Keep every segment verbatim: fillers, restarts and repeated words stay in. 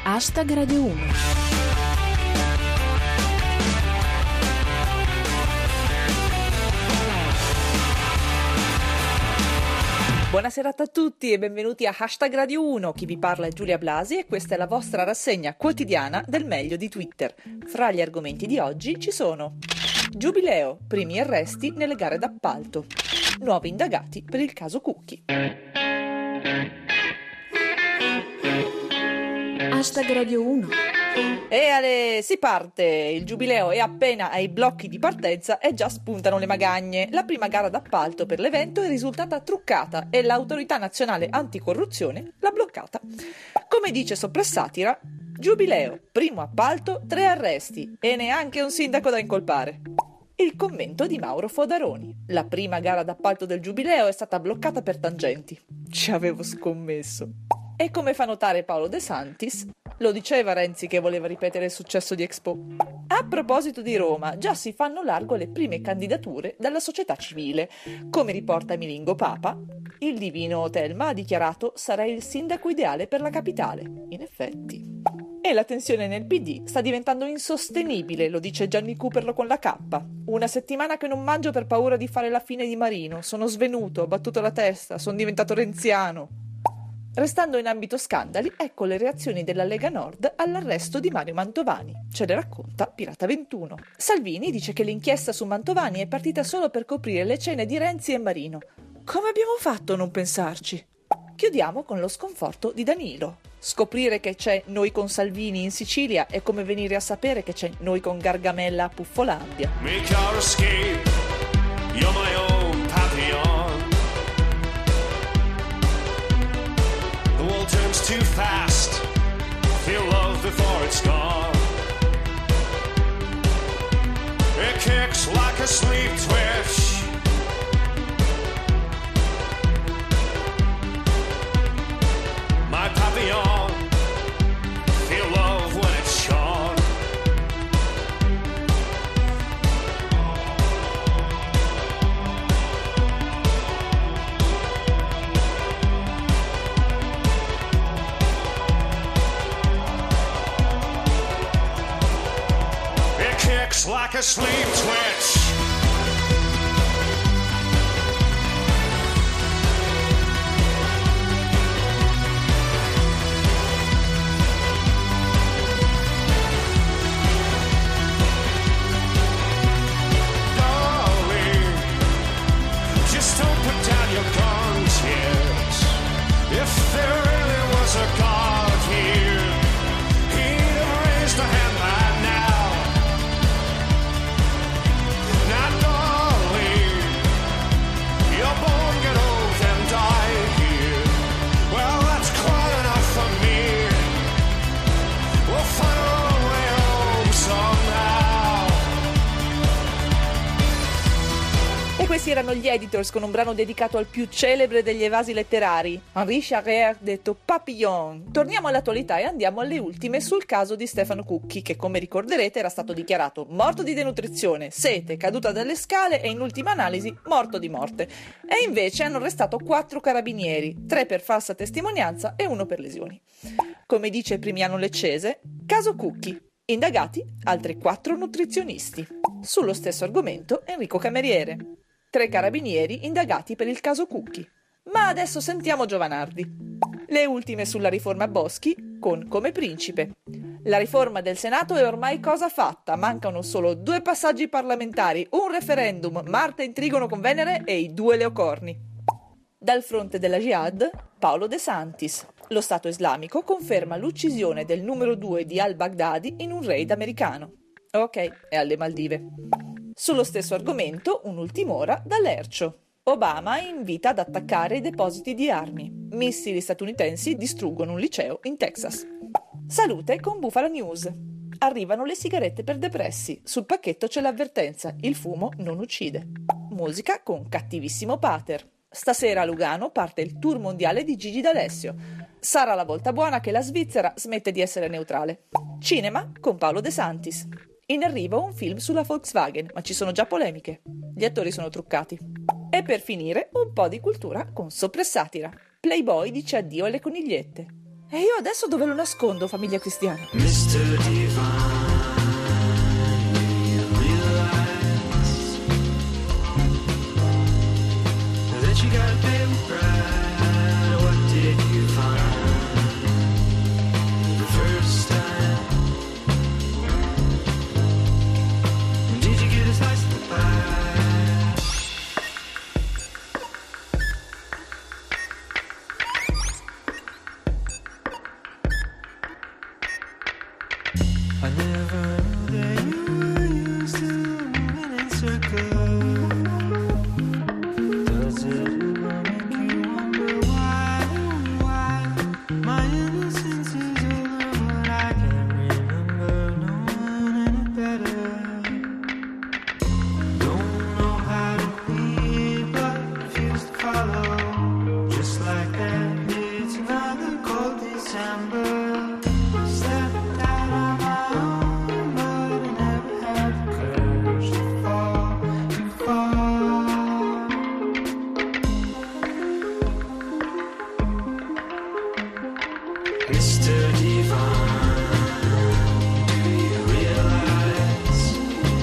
Hashtag Radio uno. Buonasera a tutti e benvenuti a Hashtag Radio uno. Chi vi parla è Giulia Blasi e questa è la vostra rassegna quotidiana del meglio di Twitter. Fra gli argomenti di oggi ci sono: Giubileo, primi arresti nelle gare d'appalto, nuovi indagati per il caso Cucchi. Hashtag Radio uno. E ale, si parte! Il Giubileo è appena ai blocchi di partenza e già spuntano le magagne. La prima gara d'appalto per l'evento è risultata truccata e l'Autorità Nazionale Anticorruzione l'ha bloccata. Come dice Soprassatira, Giubileo, primo appalto, tre arresti e neanche un sindaco da incolpare. Il commento di Mauro Fodaroni. La prima gara d'appalto del Giubileo è stata bloccata per tangenti. Ci avevo scommesso. E come fa notare Paolo De Santis, lo diceva Renzi che voleva ripetere il successo di Expo. A proposito di Roma, già si fanno largo le prime candidature dalla società civile. Come riporta Milingo Papa, il divino Telma ha dichiarato «sarei il sindaco ideale per la capitale». In effetti. E la tensione nel P D sta diventando insostenibile, lo dice Gianni Cooperlo con la K. Una settimana che non mangio per paura di fare la fine di Marino. Sono svenuto, ho battuto la testa, sono diventato renziano. Restando in ambito scandali, ecco le reazioni della Lega Nord all'arresto di Mario Mantovani. Ce le racconta Pirata ventuno. Salvini dice che l'inchiesta su Mantovani è partita solo per coprire le cene di Renzi e Marino. Come abbiamo fatto a non pensarci? Chiudiamo con lo sconforto di Danilo. Scoprire che c'è Noi con Salvini in Sicilia è come venire a sapere che c'è Noi con Gargamella a Puffolandia. Make our escape, you're my own papillon. The world turns too fast, feel love before it's gone. It kicks like a sleep twitch. My papillon, feel love when it's shone. Like a sleep twitch. Darling, just don't put down your guns yet. If there really was a God here, he'd have raised a hand by now. Questi erano gli Editors con un brano dedicato al più celebre degli evasi letterari, Henri Charrière, detto Papillon. Torniamo all'attualità e andiamo alle ultime sul caso di Stefano Cucchi, che come ricorderete era stato dichiarato morto di denutrizione, sete, caduta dalle scale e in ultima analisi morto di morte. E invece hanno arrestato quattro carabinieri, tre per falsa testimonianza e uno per lesioni. Come dice Primiano Leccese, caso Cucchi, indagati altri quattro nutrizionisti. Sullo stesso argomento Enrico Cameriere. Tre carabinieri indagati per il caso Cucchi. Ma adesso sentiamo Giovanardi. Le ultime sulla riforma Boschi con Come Principe. La riforma del Senato è ormai cosa fatta, mancano solo due passaggi parlamentari, un referendum, Marte in trigono con Venere e i due leocorni. Dal fronte della Jihad, Paolo De Santis. Lo Stato islamico conferma l'uccisione del numero due di al-Baghdadi in un raid americano. Ok, è alle Maldive. Sullo stesso argomento, un'ultim'ora da Lercio. Obama invita ad attaccare i depositi di armi. Missili statunitensi distruggono un liceo in Texas. Salute con Bufala News. Arrivano le sigarette per depressi. Sul pacchetto c'è l'avvertenza: il fumo non uccide. Musica con Cattivissimo Pater. Stasera a Lugano parte il tour mondiale di Gigi D'Alessio. Sarà la volta buona che la Svizzera smette di essere neutrale. Cinema con Paolo De Santis. In arrivo un film sulla Volkswagen, ma ci sono già polemiche. Gli attori sono truccati. E per finire un po' di cultura con Soprassatira. Playboy dice addio alle conigliette. E io adesso dove lo nascondo, famiglia cristiana? mister Divine, you realize that you gotta pay with pride. What did you find the first time? Did you get a slice of the pie? I never knew that you used to move in circles. Does it ever make you wonder why, why my innocence is over, but I can't remember knowing any better. Don't know how to lead, but refuse to follow. Just like that, it's another cold December. Stepped out on my own, but I never had the courage to fall, to fall. mister Divine, do you realize?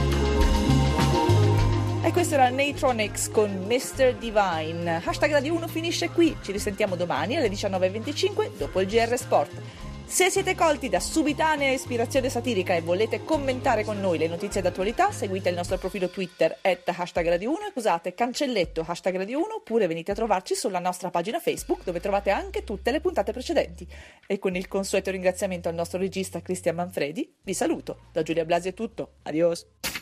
E questo era Natronics con mister Divine. Hashtag Radio uno finisce qui, ci risentiamo domani alle diciannove e venticinque dopo il G R Sport. Se siete colti da subitanea ispirazione satirica e volete commentare con noi le notizie d'attualità, seguite il nostro profilo Twitter at hashtag Radio uno e usate cancelletto hashtag Radio uno, oppure venite a trovarci sulla nostra pagina Facebook, dove trovate anche tutte le puntate precedenti. E con il consueto ringraziamento al nostro regista Cristian Manfredi, vi saluto. Da Giulia Blasi è tutto. Adios.